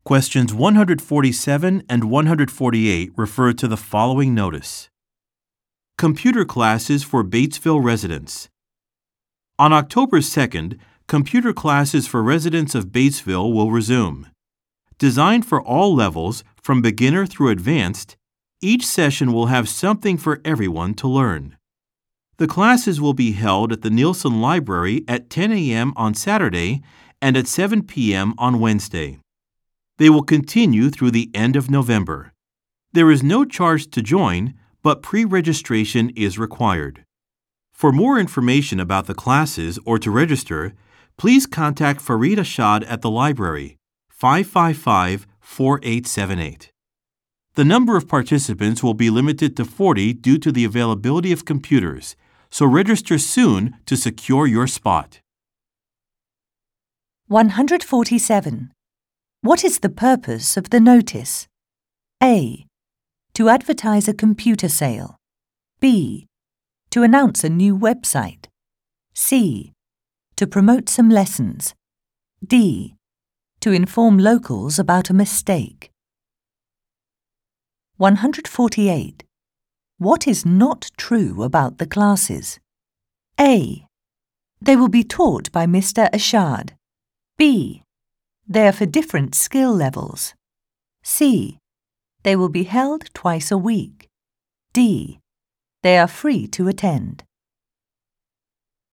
Questions 147 and 148 refer to the following notice. Computer classes for Batesville residents. On October 2nd, computer classes for residents of Batesville will resume. Designed for all levels, from beginner through advanced, each session will have something for everyone to learn. The classes will be held at the Nielsen Library at 10 a.m. on Saturday and at 7 p.m. on Wednesday. They will continue through the end of November. There is no charge to join, but pre-registration is required. For more information about the classes or to register, please contact Farid Ashad at the library, 555-4878. The number of participants will be limited to 40 due to the availability of computers, so register soon to secure your spot. 147. What is the purpose of the notice? A. To advertise a computer sale. B. To announce a new website. C. To promote some lessons. D. To inform locals about a mistake. 148. What is not true about the classes? A. They will be taught by Mr. Ashad. B. They are for different skill levels. C. They will be held twice a week. D. They are free to attend.